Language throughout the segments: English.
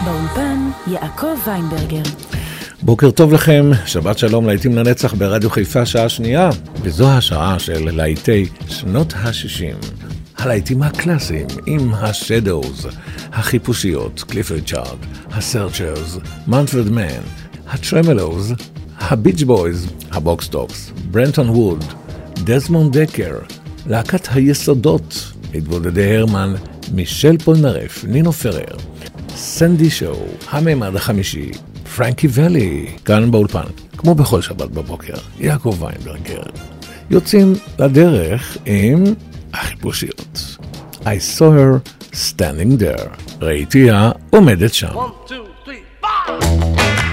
באולפן יעקב ויינברגר. בוקר טוב לכם, שבת שלום, להיטים לנצח ברדיו חיפה שעה שנייה, וזו השעה של להיטי שנות ה-60. הלהיטים הקלאסיים עם השדוז, החיפושיות, קליפורד צ'ארד, הסרצ'רס, מנפרד מן, הטרמלוז, הביץ' בויז, הבוקסטוקס, ברנטון ווד, דזמונד דקר, להקת היסודות, מתבודדי הרמן, מישל פולנרף, נינו פרר, סנדי שואו, הממד החמישי, פרנקי ולי, כאן באולפן, כמו בכל שבת בבוקר, יעקב ויינברגר. יוצאים לדרך עם החיפושיות. I saw her standing there. ראיתיה עומדת שם. 1, 2, 3, 4!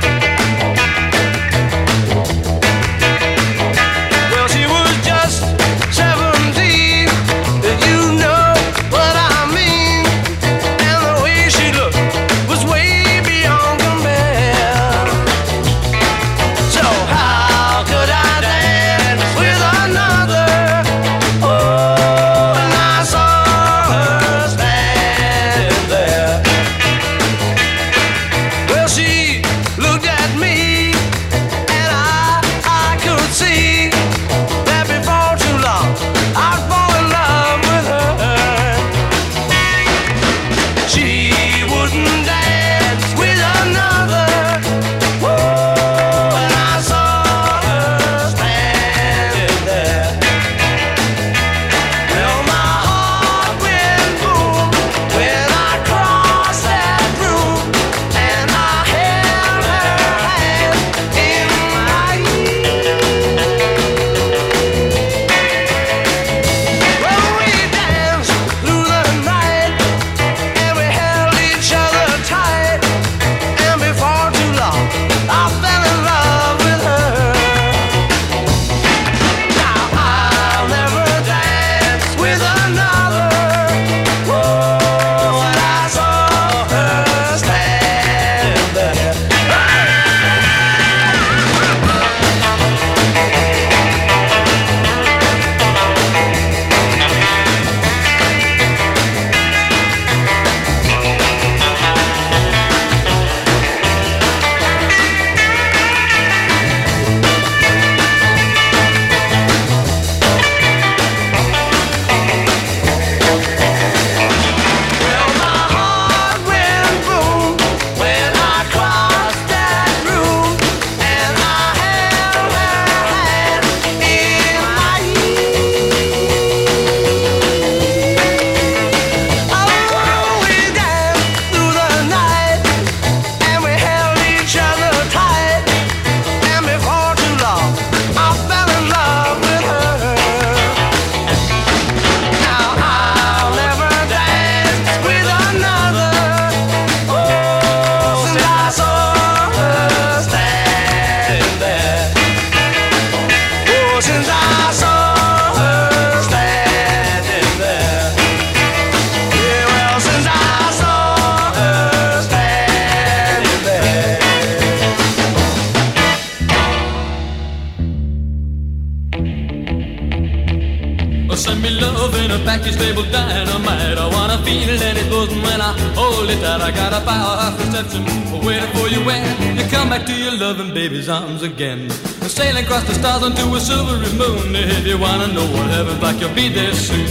Arms again, sailing across the stars onto a silvery moon. If you wanna know what heaven's like, you'll be there soon.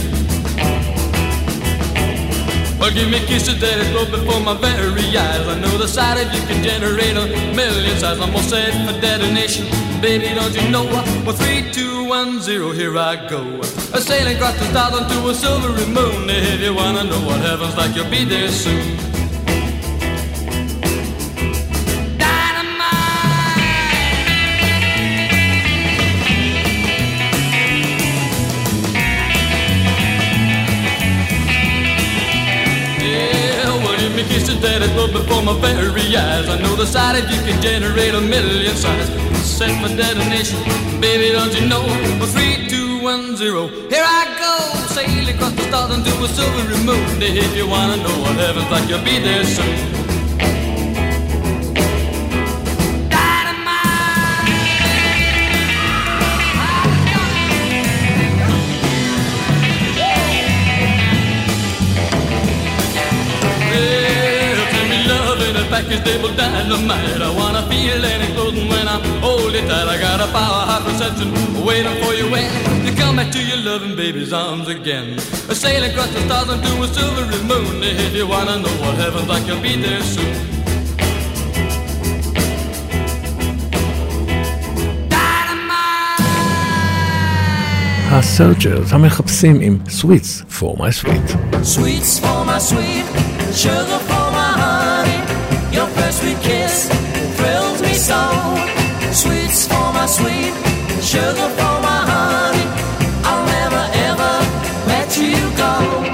Well, give me kisses that flow before my very eyes. I know the sight of you can generate a million sighs. Almost set for detonation, baby. Don't you know? Well, 3, 2, 1, 0, here I go. Sailing across the stars onto a silvery moon. If you wanna know what heaven's like, you'll be there soon. That is but before my very eyes. I know the sight of you can generate a million sighs. Set for detonation, baby, don't you know? Well, 3, 2, 1, 0, here I go. Sail across the stars into a silvery moon. If you wanna know what heaven's like, you'll be there soon. package label dynamite. I wanna feel any clothing when I hold it tight. I got a powerhouse reception waiting for you when you come back to your loving baby's arms again. A sailing across the stars into a silvery moon. If you wanna know what heaven's like, you'll be there soon. הסרג'רס המחפשים עם Sweets for my sweet. Sweets for my sweet, sugar for my honey. Your first sweet kiss thrills me so. Sweets for my sweet, sugar for my honey. I'll never ever let you go.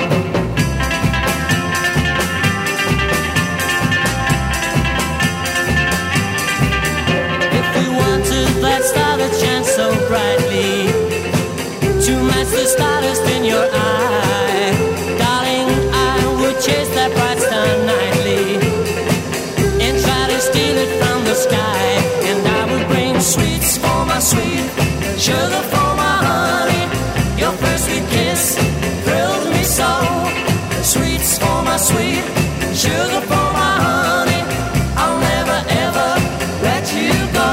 If you wanted that star that shines so brightly to match the stardust in your eye, darling, I would chase that bright star nightly and try to steal it from the sky. And I would bring sweets for my sweet, sugar for my honey. Your first sweet kiss thrills me so. Sweets for my sweet, sugar for my honey. I'll never ever let you go.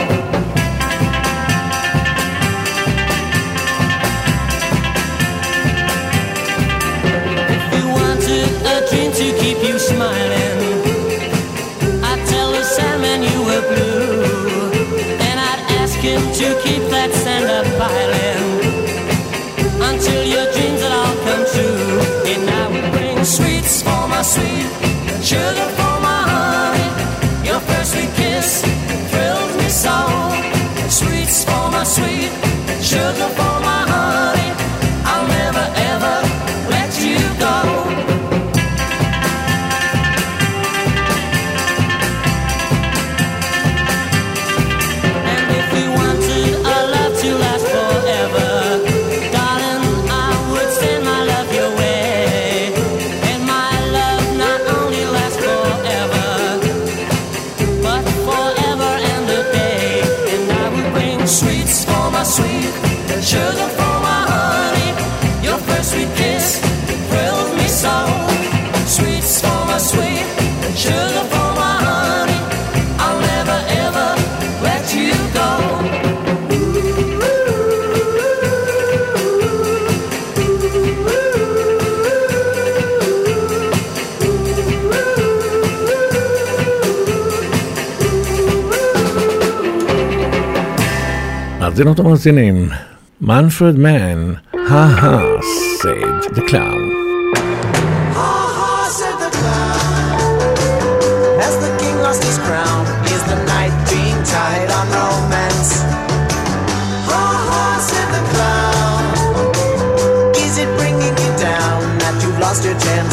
To keep you smiling, I'd tell the Sandman you were blue, and I'd ask him to keep that sand up piling until your dreams would all come true. And I would bring sweets for my sweet, sugar for my honey. Your first sweet kiss thrills me so. Sweets for my sweet, sugar for my honey. I'll never ever let you go. Sweet, sugar for my honey. Your first sweet kiss thrills me so. Sweets for my sweet, sugar for my honey. I'll never ever let you go. מאזינות ומאזינים, Manfred Mann, Ha Ha, said the clown. Ha ha, said the clown, as the king lost his crown. Is the night being tied on romance? Ha ha, said the clown, is it bringing you down that you've lost your chance?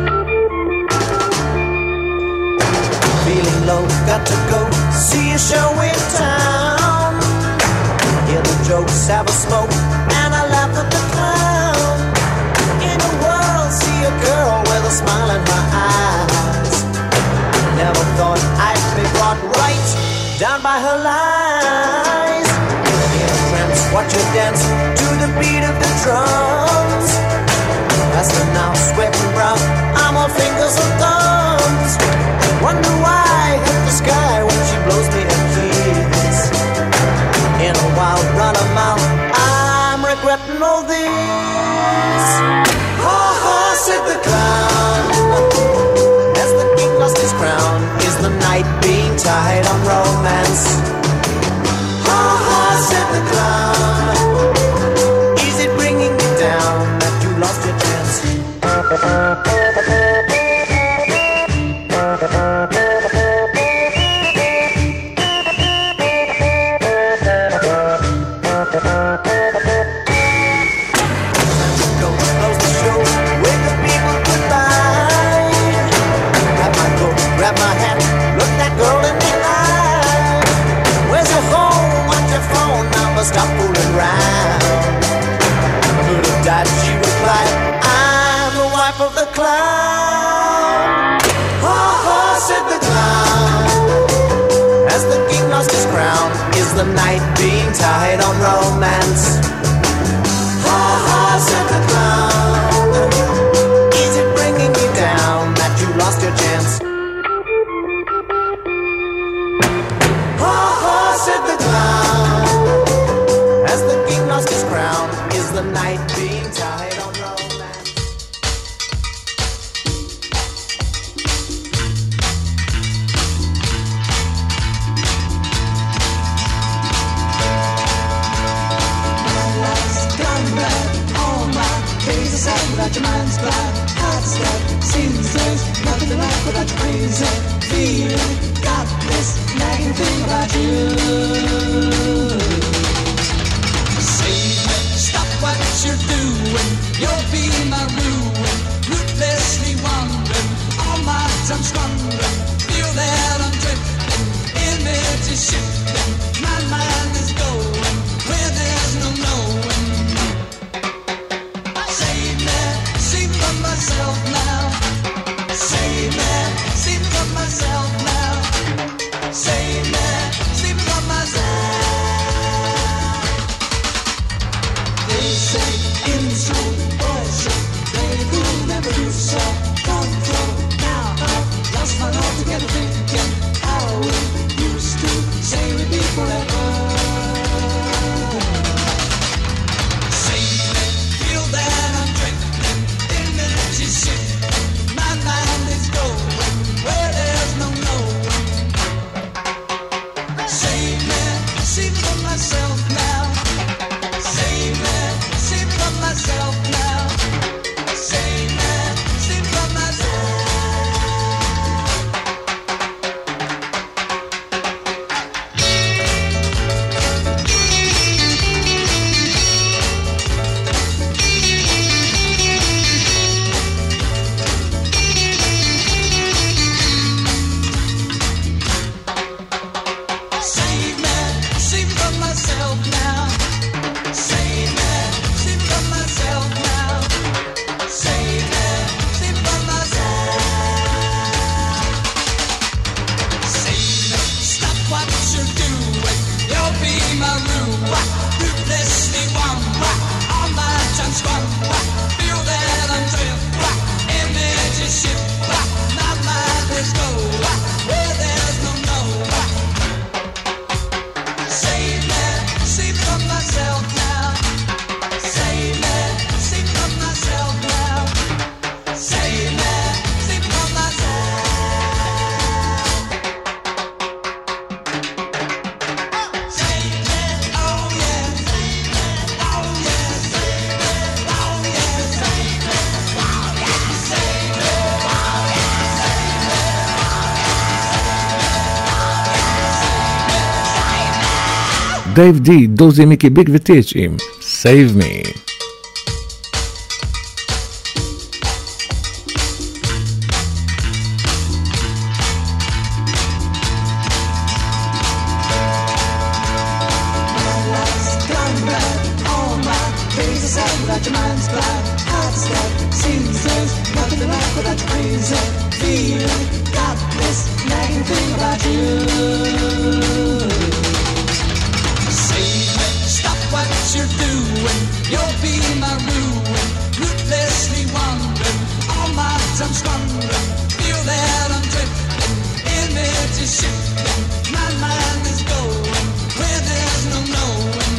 Feeling low, got to go see a show in town. Hear the jokes, have a smoke, and I laugh at the clown. In the world, see a girl with a smile in her eyes. Never thought I'd be brought right down by her lies. In a trance, watch her dance to the beat of the drums. Past her now, sweating brown, I'm all fingers and thumbs. Wonder why I hit the sky when she blows me a kiss. In a wild run of mouth, I'm regretting all this. Ha ha, said the clown, as the king lost his crown. Is the night being tied on romance? Ha ha, said the clown, is it bringing you down that you lost your chance? Stop fooling around. Could have died, she replied, I'm the wife of the clown. Ha ha, said the clown, as the king lost his crown. Is the night being tied on romance? Ha ha, said the clown, is it bringing you down that you lost your chance? without your crazy feeling. Got this nagging thing about you. Save me, stop what you're doing. You'll be my ruin. Ruthlessly wandering, all my time squandering. Feel that I'm drifting, image is shifting. My mind is going where there's no knowing. Save me, save from myself now. Save me, save from myself now. Save me, save from myself. They say insult, bullshit. They will never do so. Control now. I've lost my altogether thinking how we used to say we'd be forever. Save me, feel that I'm drifting. Image is shifting. My mind is going where there's no knowing. Save me, save from myself now. Save me, save from myself now. Save me, save from myself. Save me, save from myself now. Save me, save from myself now. Save me, save from myself. Save me, stop what you're doing. You'll be my ruin. Ruthlessly one, all my time squander. Feel that I'm drifting. Image is shifting. My mind is going where there's no knowing. Save me, save from myself now. Save me, save from myself now. Save me, save from myself. Save me, oh yeah, save me, oh yeah, save me, oh yeah, save me, oh yeah, save me, oh yeah, save me, דייב די, דוזי מיקי ביג וטיץ' עם Save Me. Gone bad, all my days are sad without your mind's glad. Heart step, seasons, nothing to like without your crazy feeling. Got this nagging thing about you. Save me, stop what you're doing. You'll be my ruin. Ruthlessly wandering, all my time squandering. Feel that I'm drifting, image is shifting. My mind is going where there's no knowing.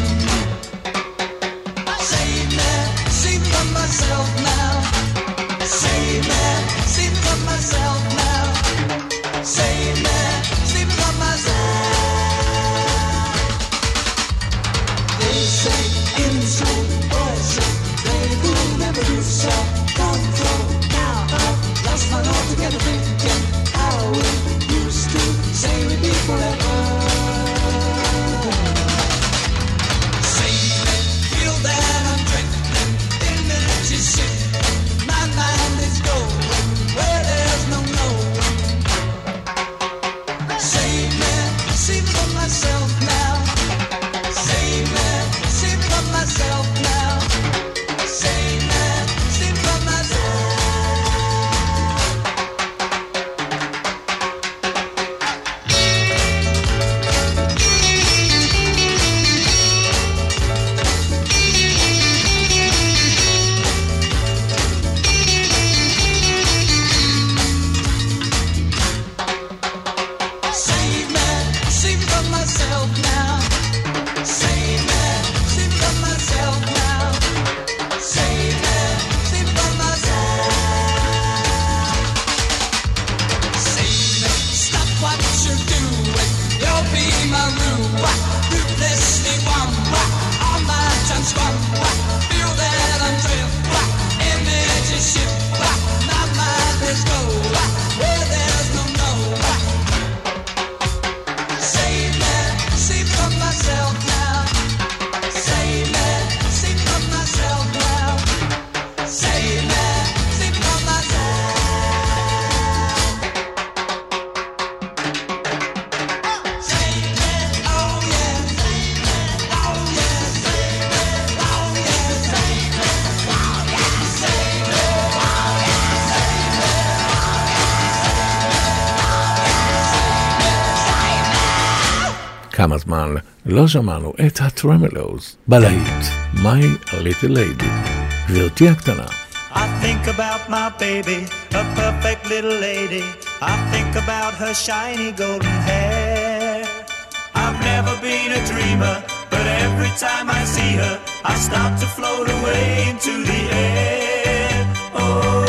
Save me, save from myself now. Save me, save from myself now. Save me, save from myself. They say insult, bullshit. They will never do so. Control now. I've lost my altogether thinking how we used to say we'd be forever. Save me, feel that I'm drifting. Image is shifting. My mind is going where there's no knowing. Save me, save from myself now. Save me, save from myself now. Save me, save from myself. Save me, save from myself now. Save me, save from myself now. Save me, save from myself. Save me, stop what you're doing. You'll be my ruin. Ruthlessly one, all my time squander. Feel that I'm drifting. Image is shifting. My mind is going where there כמה זמן לא שמענו את הטרמלוז בלהיט My Little Lady. גברתי הקטנה. I think about my baby, a perfect little lady. I think about her shiny golden hair. I've never been a dreamer, but every time I see her, I start to float away into the air. Oh,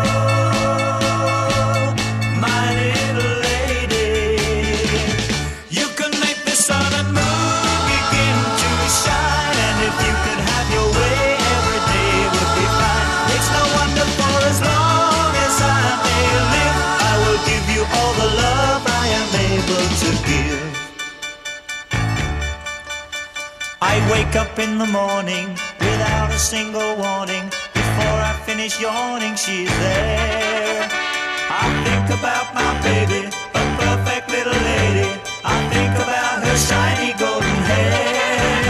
my little lady. You can make the sun and moon begin to shine, and if you could have your way, every day would be fine. It's no wonder, for as long as I may live, I will give you all the love I am able to give. I wake up in the morning without a single warning. Before I finish yawning, she's there. I think about my baby, a perfect little lady. I think about her shiny golden hair.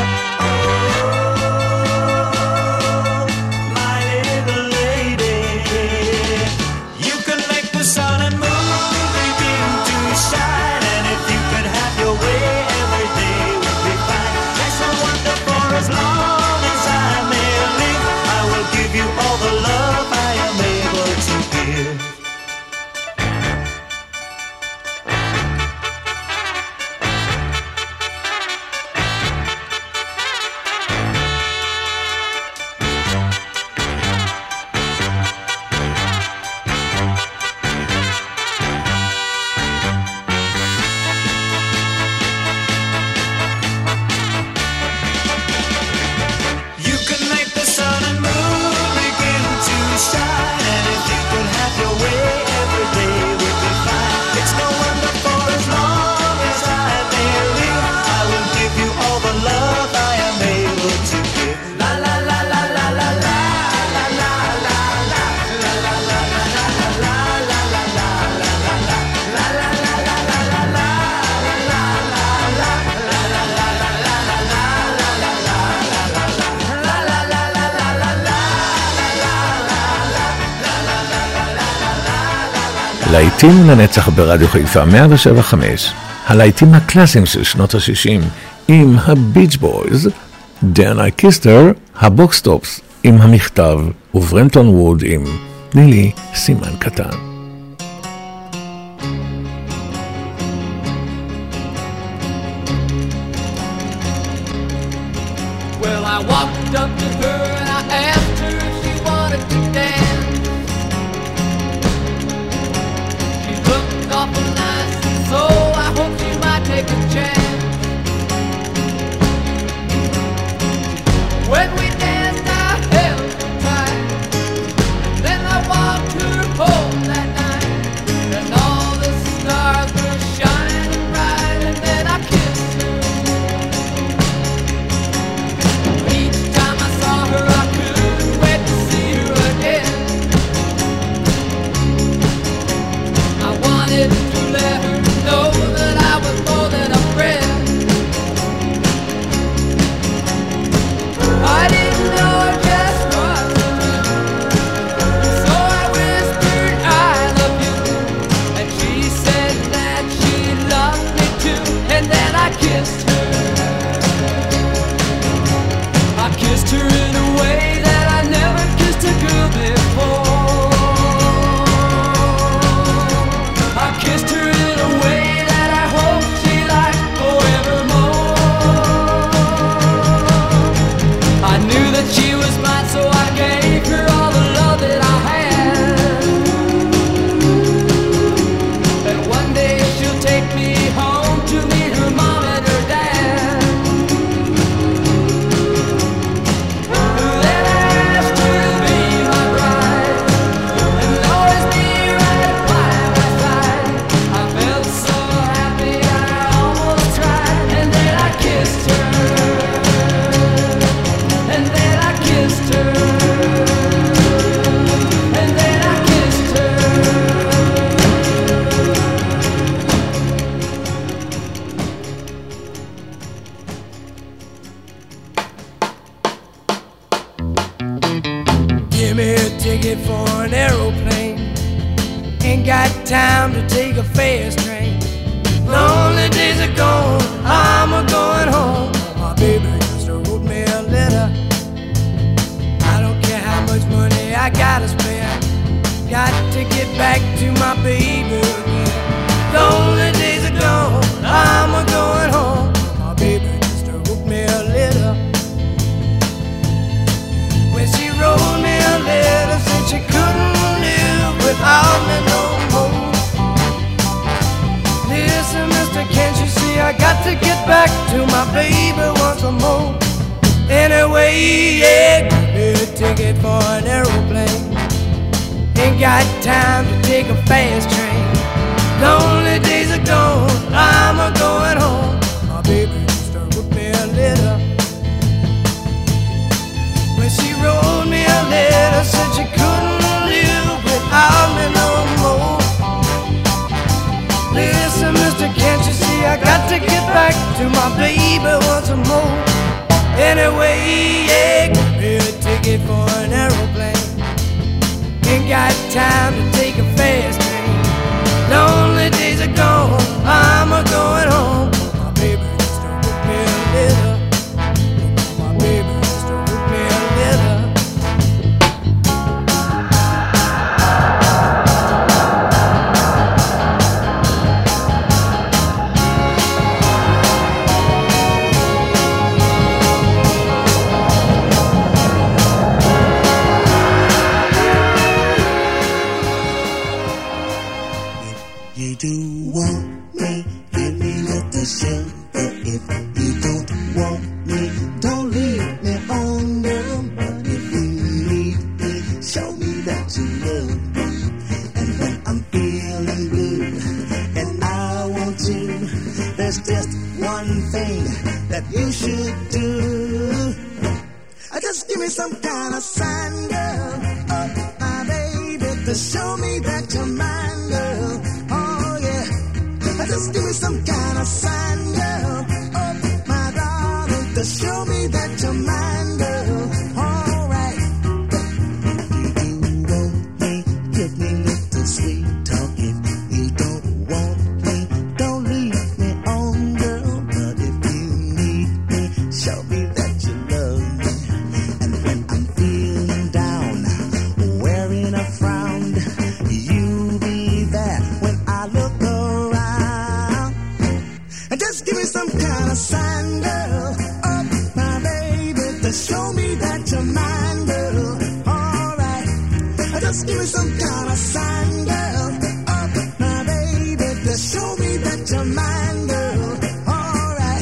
Oh, my little lady. You can make the sun and moon begin to shine, and if you could have your way, every day would be fine. That's no wonder, for as long as I may live, I will give you all the love I am able to give. You can make the sun and moon begin to shine, and if you could have your way, every day would be fine. It's no wonder, for as long as I may live, I will give you all the love I am able to give. La la la la la la la la la la la la la la la la la להיטים לנצח ברדיו חיפה 107.5, הלהיטים הקלאסיים של שנות ה-60 עם הביץ' בויז, Then I Kissed Her, הבוקסטופס עם המכתב וברמפטון ווד עם תני לי סימן קטן. Well, I walked up to her and I asked her if she wanted to dance. She looked awful nice, so I hope she might take a chance. When we danced, I held her tight. Then I walked her home that night, and all the stars were shining bright. And then I kissed her. Each time I saw her, I couldn't wait to see her again. I wanted to let her know that I was more than a friend. I didn't know just what to do, so I whispered I love you, and she said that she loved me too. And then I kissed her. I kissed her in a way that I never kissed a girl before. I kissed her in a way that I hope she liked forevermore. I knew that she was mine, so I gave her all the love that I had. And one day she'll take me home to meet her mom and her dad. Then I asked her to be my bride and always be right by my side. I felt so happy I almost cried. And then I kissed her. And then I kissed her. And then I kissed her. Give me a ticket for an aeroplane. Ain't got time to take a fast train. Lonely days are gone, I'm a-going home. My baby just wrote me a letter. I don't care how much money I gotta spend, got to get back to my baby again. Lonely days are gone, I'm a-going home. My baby just wrote me a letter. When she wrote me a letter, said she couldn't live without me no more. Listen, mister, can't you see I got to get back to my baby once more? Anyway, yeah, give me a ticket for an aeroplane. Ain't got time to take a fast train. Lonely days are gone, I'm a-going home. My baby just wrote me a letter. When she wrote me a letter, said she couldn't live without me no more. Listen, mister, can't you see I got to get back to my baby once more? Anyway, yeah, give me a ticket for an aeroplane. Ain't got time to take a fast train. Lonely days are gone, I'm a-going home. My baby just wrote me a letter. My baby just wrote me a letter. You do want me, give me little shelter. If you don't want me, don't leave me on, girl. But if you need me, show me that you love me. And when I'm feeling good and I want you, there's just one thing that you should do. Just give me some kind of sign, girl. Oh, my baby, to show me that you're mine, girl. Just give me some kind of sign, girl. Oh, my darling, to show me that you're mine, girl. All right. If you want me, give me little sweet talk. If you don't want me, don't leave me on, girl. But if you need me, show me that you love me. And when I'm feeling down, wearing a frown, you be there when I look around. Just give me some kind of sign, girl. Oh, my baby, to show me that you're mine, girl. All right. Just give me some kind of sign, girl. Oh, my baby, to show me that you're mine, girl. All right.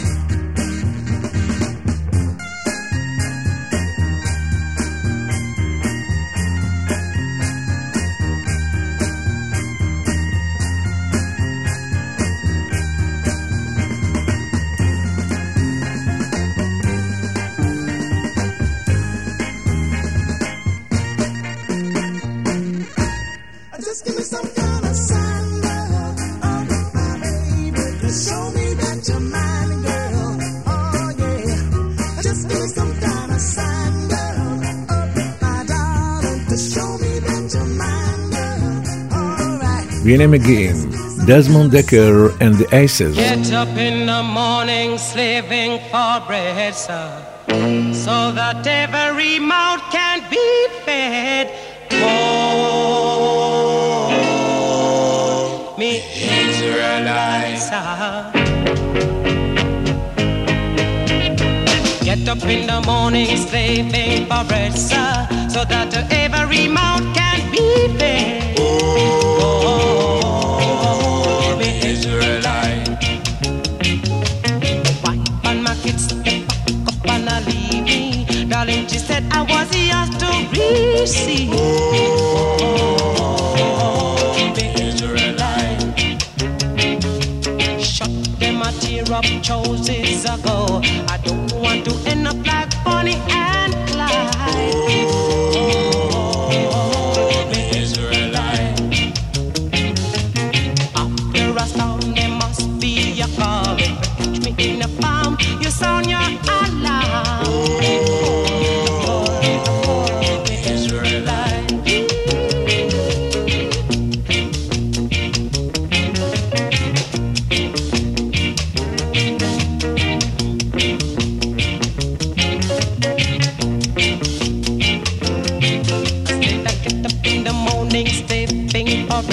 Just give me some kind of sign, girl. Oh, my baby, to show me that you're mine, girl. Oh, yeah. Just give me some kind of sign, girl. Oh, my darling, to show me that you're mine, girl. All right. והנה מגיעים, דזמונד דקר and the Aces. Get up in the morning slaving for bread, sir, so that every mouth can be fed. Oh, me Israelites, get up in the morning slaving for bread, sir, so that every mouth can be fed. Oh, me Israelite. Wife and my kids, they pack up and I leave me. Darling, she said I was yours to receive. Oh, me Israelite. Shut them a tear up choices ago. I don't want to end up like Bonnie and Clyde. Oh, me Israelite. After a storm, there must be a calm. If you catch me in a palm, you sound your alarm.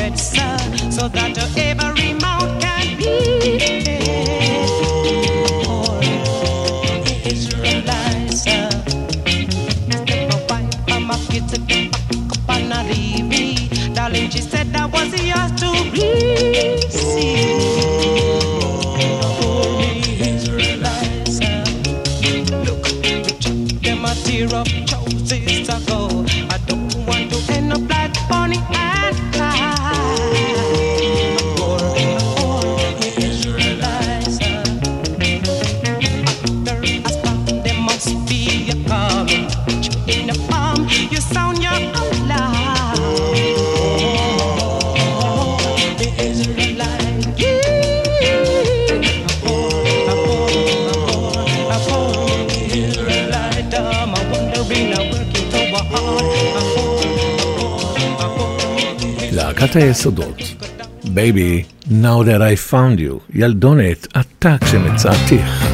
storage, sir, so that every mouth can be fed. Oh, Israelites, sir. Step away from my kids to get back up and not leave me. Darling, she said that was yours to receive. Oh, Israelites, sir. Look, them a tear up choices ago. I don't want to end up like Bonnie and Clyde. Oh, Israelites, sir. After I stop, there must be a coming. In the palm, you sound your alarm. Oh, the Israelite. Israelite. I'm wondering, I'm working so hard. להקת היסודות, Baby, Now That I Found You, ילדונת עתק שמצאתיך.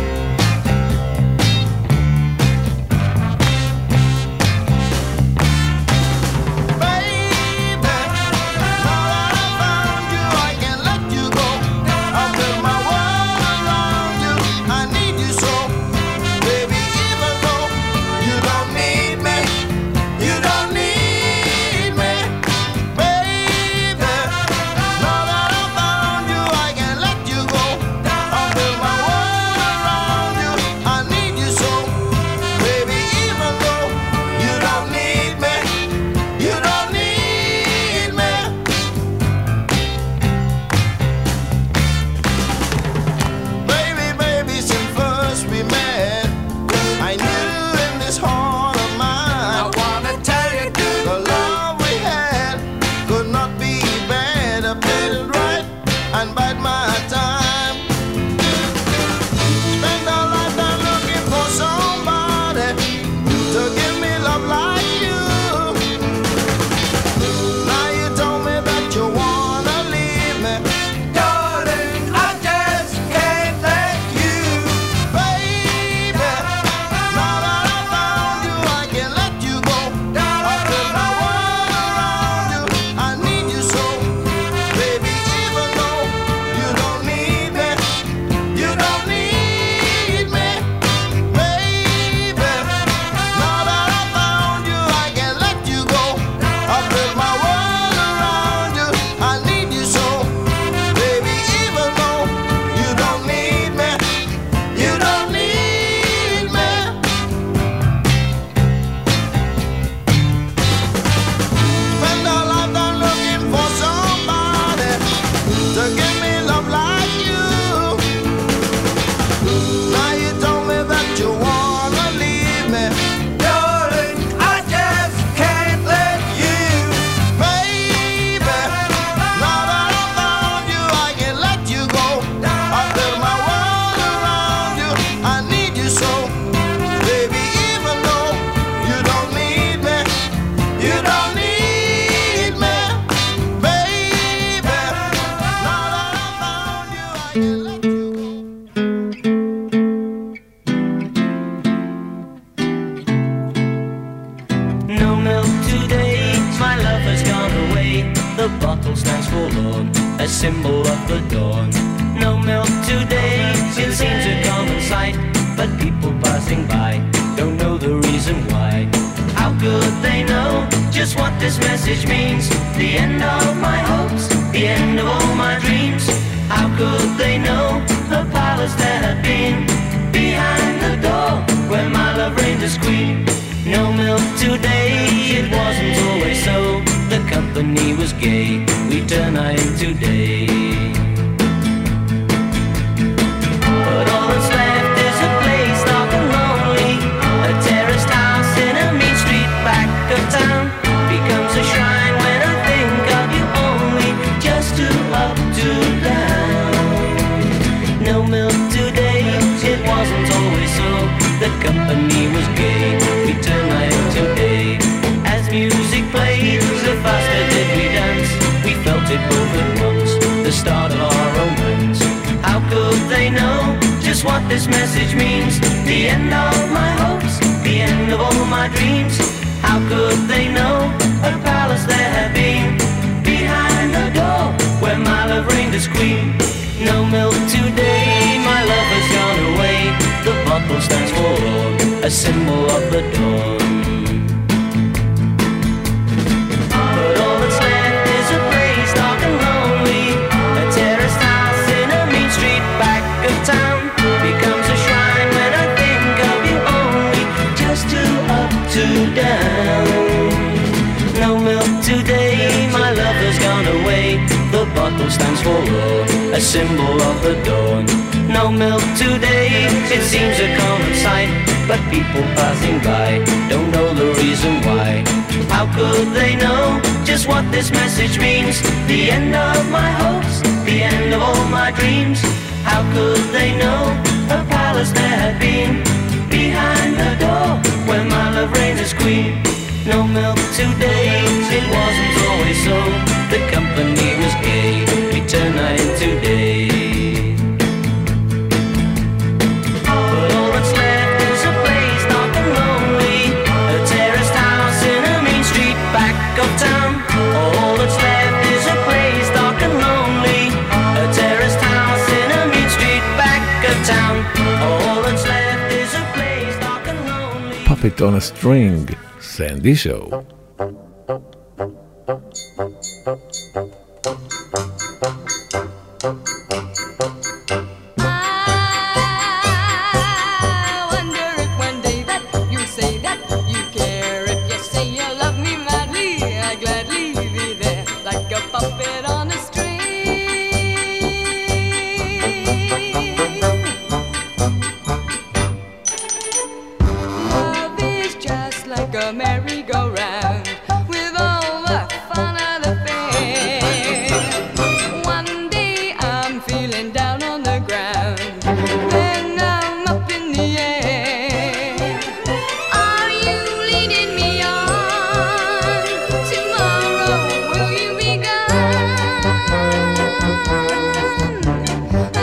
Symbol of the dawn. No milk today, it seems a common sight, but people passing by don't know the reason why. How could they know just what this message means? The end of my hopes, the end of all my dreams. How could they know the palace that had been behind the door where my love reigned as queen? No milk today, it wasn't always so. The company was gay, we turn night today. But all that's left is a place dark and lonely. A terraced house in a mean street back of town becomes a shrine when I think of you only. Just to up, to down. No milk today, it wasn't always so. The company was gay, we turn night today. As music played, the faster did we dance. We felt it both at once, the start of our romance. How could they know just what this message means? The end of my hopes, the end of all my dreams. How could they know a palace there had been behind the door stands forlorn, a symbol of the dawn. But all that's left is a place dark and lonely, a terraced house in a mean street back of town. Becomes a shrine when I think of you only, just two up, two down. No milk today, my lover's gone away. The bottle stands forlorn, a symbol of the dawn. No milk today, it seems a common sight, but people passing by don't know the reason why. How could they know just what this message means? The end of my hopes, the end of all my dreams. How could they know a palace there had been behind the door where my love reigns as queen? No milk today, it wasn't always so. The company was gay, we turn night into day. But all that's left is a place dark and lonely, a terraced house in a mean street back of town. All that's left is a place dark and lonely, a terraced house in a mean street back of town. All that's left is a place dark and lonely. Puppet on a String, Sandy Show. Merry-go-round with all the fun of the fair. One day I'm feeling down on the ground, then I'm up in the air. Are you leading me on? Tomorrow will you be gone? I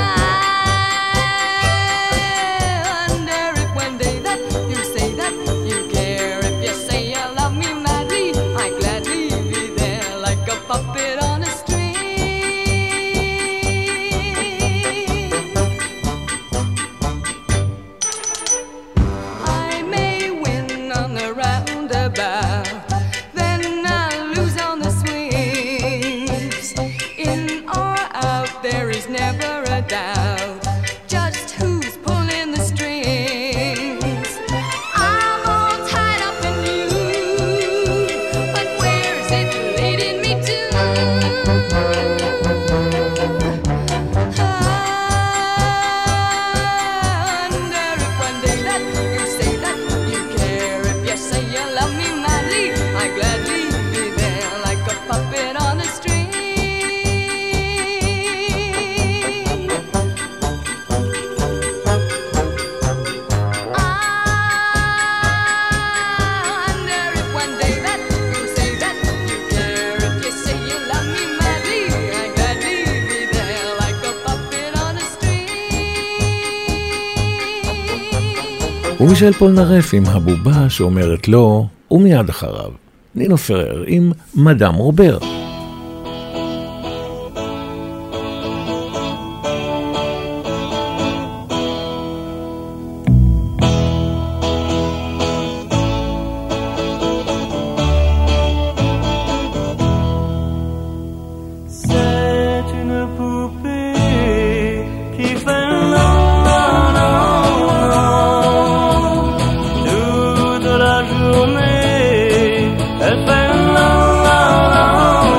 wonder if one day that you say that you care. If you say you love me madly, I gladly be there like a puppet on a string. I may win on the roundabout, then I'll lose on the swings. In or out, there is never a doubt just who's pulling the strings. I'm all tied up in you, but where's it leading me to? I wonder if one day that you say that you care. If you say you love me madly, I gladly be there like a puppet on a string. I wonder if one day that you say that you care. If you say you love me madly, I gladly be there like a puppet on a string. ומישל פולנרף עם הבובה שאומרת לא, ומיד אחריו נינו פרר עם מדאם רובר. C'est une poupée qui fait non, non, non, non. Toute la journée, elle fait non, non, non,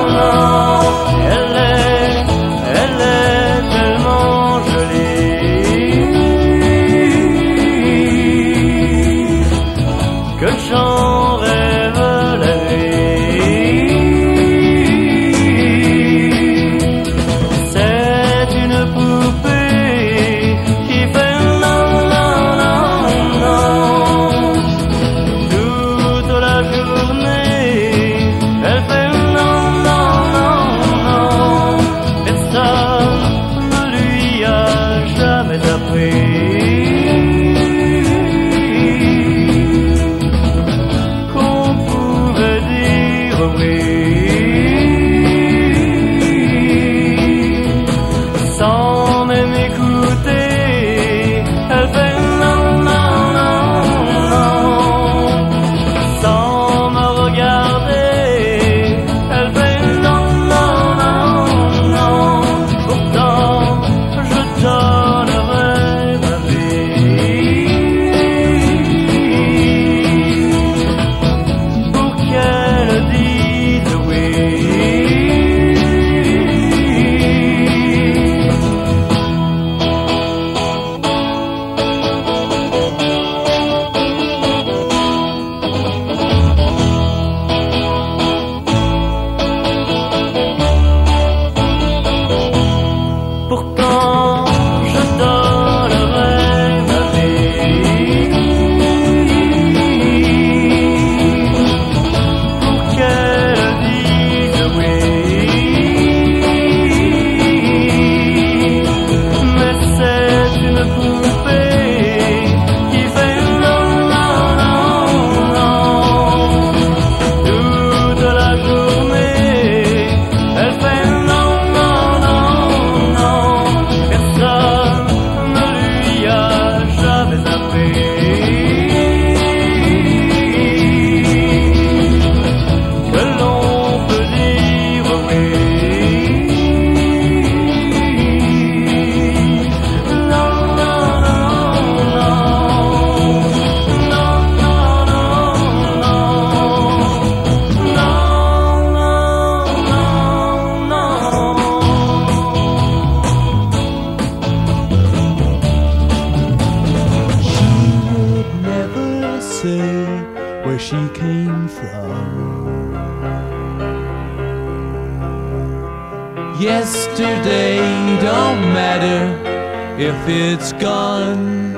Yesterday don't matter if it's gone.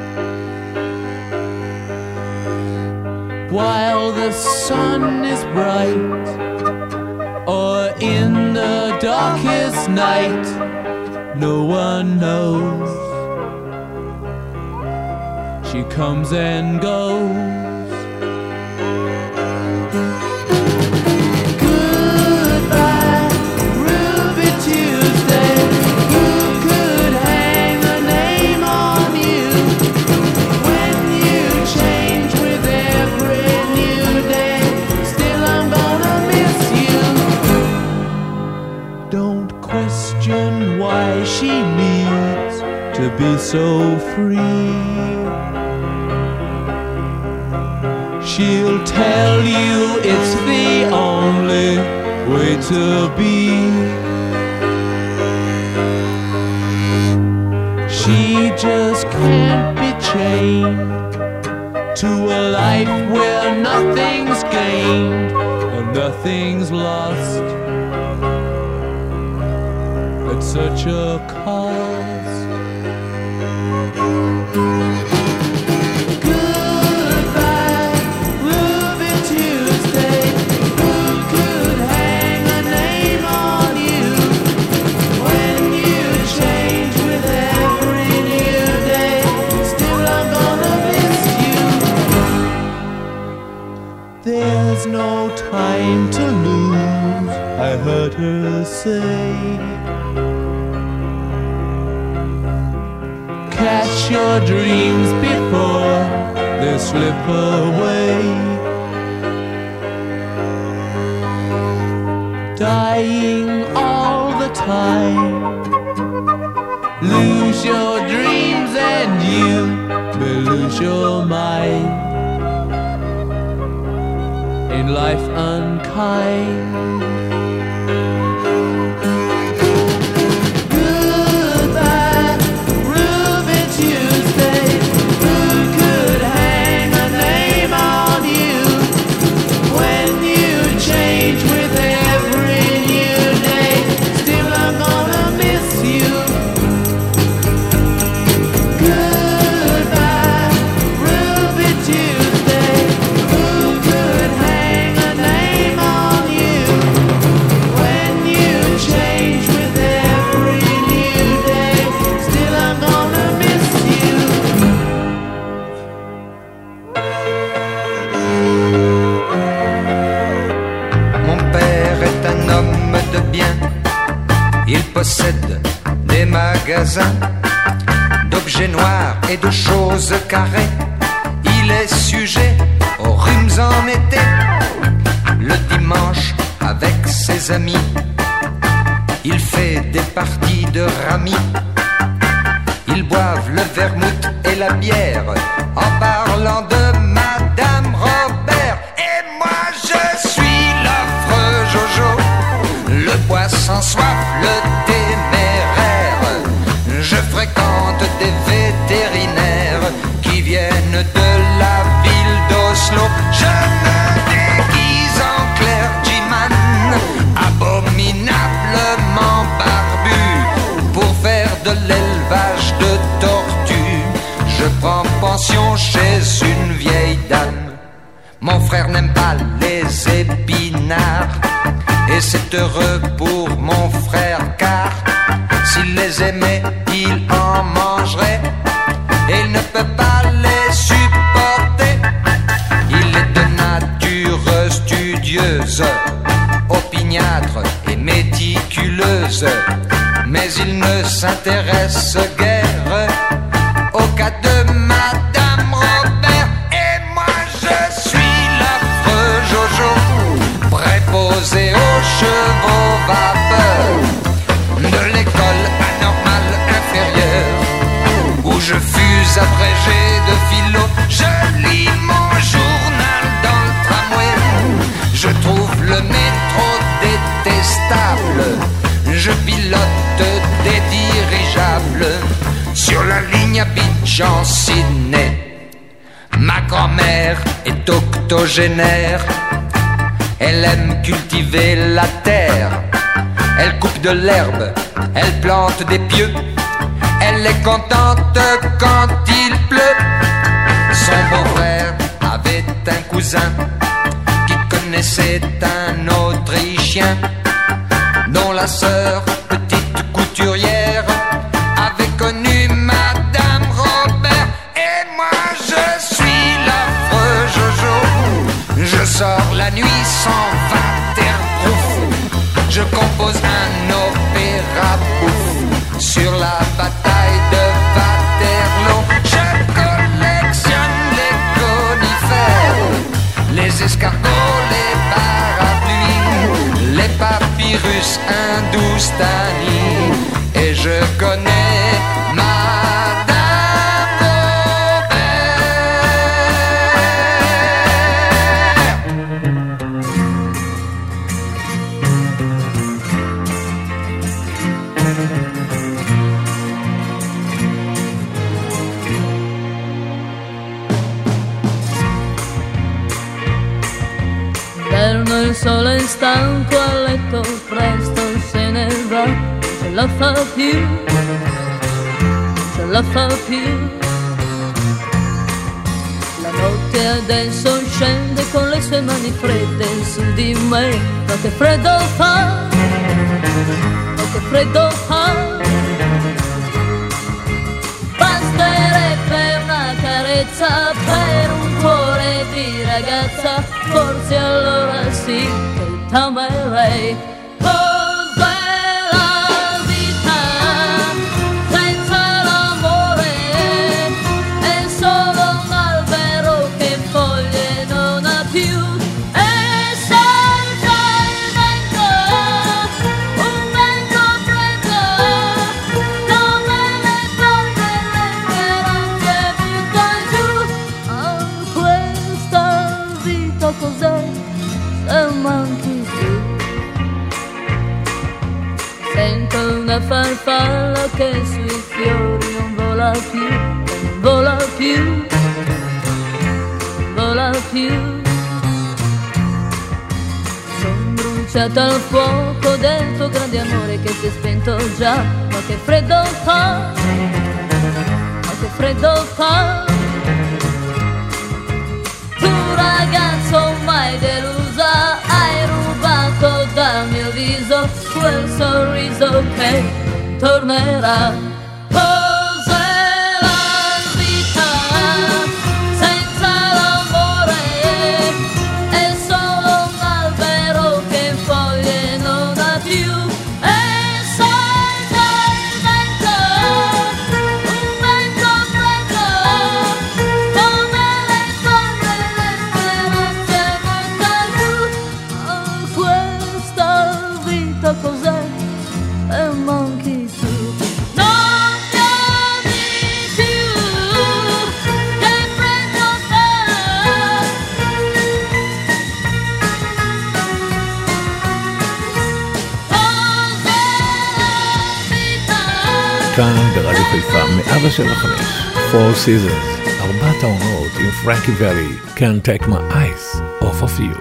While the sun is bright, or in the darkest night, no one knows. She comes and goes. She needs to be so free. She'll tell you it's the only way to be. She just can't be chained to a life where nothing's gained or nothing's lost. Such a cost. Goodbye, Ruby Tuesday. Who could hang a name on you when you change with every new day? Still I'm gonna miss you. There's no time to lose, I heard her say. Catch your dreams before they slip away. Dying all the time. Lose your dreams and you may lose your mind. In life unkind. Possède des magasins d'objets noirs et de choses carrées. Il est sujet aux rhumes en été. Le dimanche avec ses amis, il fait des parties de rami. Ils boivent le vermouth et la bière en parlant de Madame Robert. Et moi je suis l'affreux Jojo, le poisson soif, le téméraire. Je fréquente des vétérinaires qui viennent de la ville d'Oslo. Je me déguise en clergyman, abominablement barbu, pour faire de l'élevage de tortues. Je prends pension chez une vieille dame. Mon frère n'aime pas les épinards, et c'est heureux pour mon frère car s'il les aimait, il en mangerait. Et il ne peut pas les supporter. Il est de nature studieuse, opiniâtre et méticuleuse, mais il ne s'intéresse guère au cas de Madame Robert. Et moi je suis l'affreux Jojo, préposé aux chevaux vapeurs de l'école anormale inférieure, où je fus abrégé de philo. Je lis mon journal dans le tramway, je trouve le métro détestable, je pilote des dirigeables sur la ligne Abidjan-Sydney. Ma grand-mère est octogénaire, elle aime cultiver la terre. Elle coupe de l'herbe, elle plante des pieux. Elle est contente quand il pleut. Son beau-frère avait un cousin qui connaissait un Autrichien dont la sœur, petite couturière, avait connu Madame Robert. Et moi je suis l'affreux Jojo. Je sors la nuit sans waterproof. Je compose un opéra bouffe sur la bataille de Waterloo. Je collectionne les conifères, les escargots, les parapluies, les papyrus hindoustani. Et je connais Madame Il sole è stanco a letto, presto se ne va, ce la fa più, ce la fa più. La notte adesso scende con le sue mani fredde su di me, ma che freddo fa, ma che freddo fa. Basterebbe una carezza per un cuore di ragazza, forse allora sì che t'amerei. Cos'è la vita senza l'amore? È solo un albero che foglie non ha più. E salta il vento, un vento freddo, come le polvere che butta giù. Ah, questa vita cos'è? Se manchi tu. Sento una farfalla che sui fiori non vola più, non vola più, non vola più. Sono bruciata al fuoco del tuo grande amore che si è spento già, ma che freddo fa, ma che freddo fa. Tu ragazzo mai delusa, hai rubato dal mio viso quel sorriso che tornerà. Cos'è la vita senza l'amore? È solo un albero che foglie non ha più. E salta il vento, un vento freddo, come le polvere che butta giù. Oh, questa vita cos'è? E manchi tu. Non mi ami più, che freddo fa. כאן ברדיו חיפה 175 Four Seasons, 4 העונות עם פרנקי ולי, Can't Take My Eyes Off of You.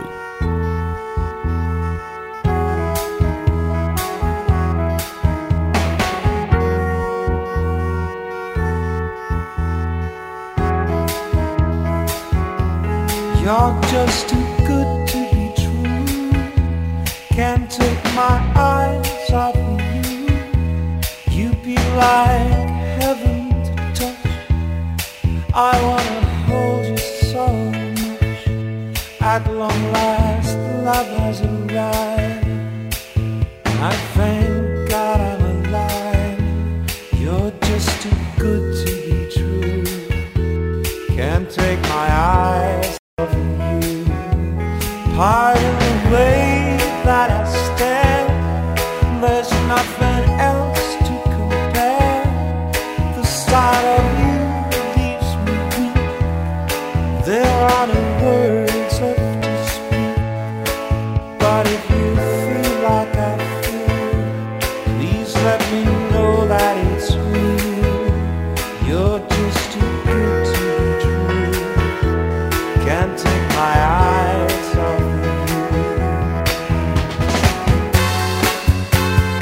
You're just too good to be true. Can't take my eyes off of you. You'd be like heaven to touch. I wanna hold you so much. At long last, love has arrived. I thank God I'm alive. You're just too good to be true. Can't take my eyes off of you. Pardon the way that I stand. There's nothing else to compare. The sight of you leaves me weak. There are no words left to speak. But if you feel like I feel, please let me know that it's real. You're just too good to be true. Can't take my eyes off of you.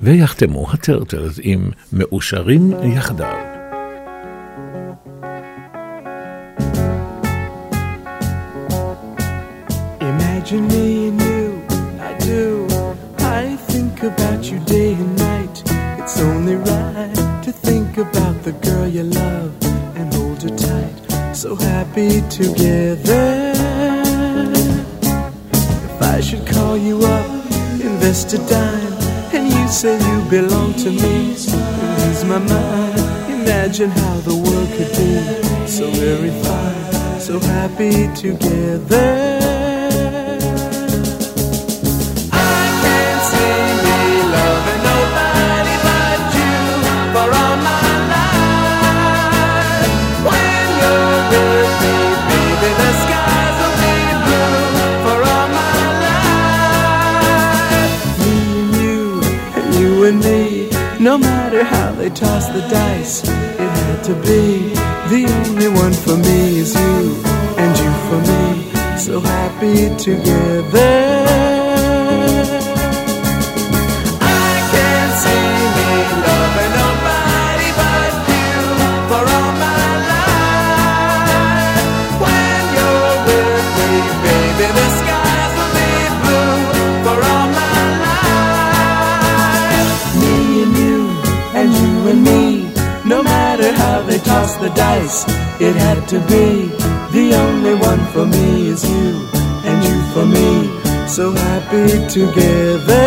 ויחתמו הטרטלס עם מאושרים יחדיו. Imagine me and you, I do. I think about you day and night. It's only right to think about the girl you love and hold her tight. So happy together. If I should call you up, invest a dime, and you say you belong to me, lose my mind. Imagine how the world could be so very fine, so happy together. No matter how they toss the dice, it had to be. The only one for me is you, and you for me, so happy together. I can't see me loving nobody but you for all my life. When you're with me, baby, the skies will be blue for all my life. Me and you and me, no matter how they toss the dice, it had to be. The only one for me is you, and you for me, so happy together.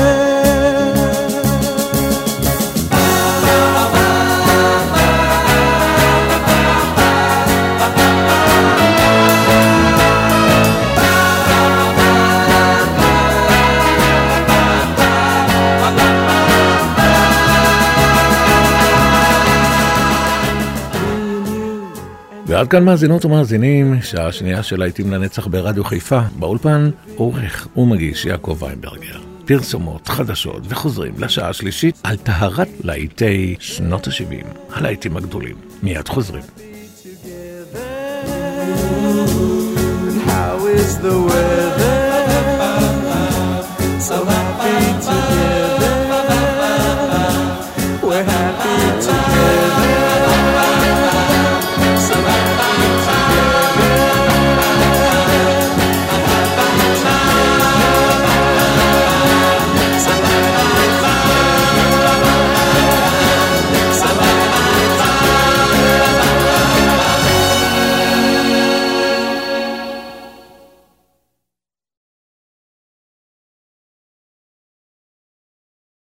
ועד כאן מאזינות ומאזינים, שעה שנייה של להיטים לנצח ברדיו חיפה. באולפן עורך ומגיש יעקב ויינברגר. פרסומות, חדשות וחוזרים לשעה השלישית על טהרת להיטי שנות ה-70, הלהיטים הגדולים. מיד חוזרים. How is the weather?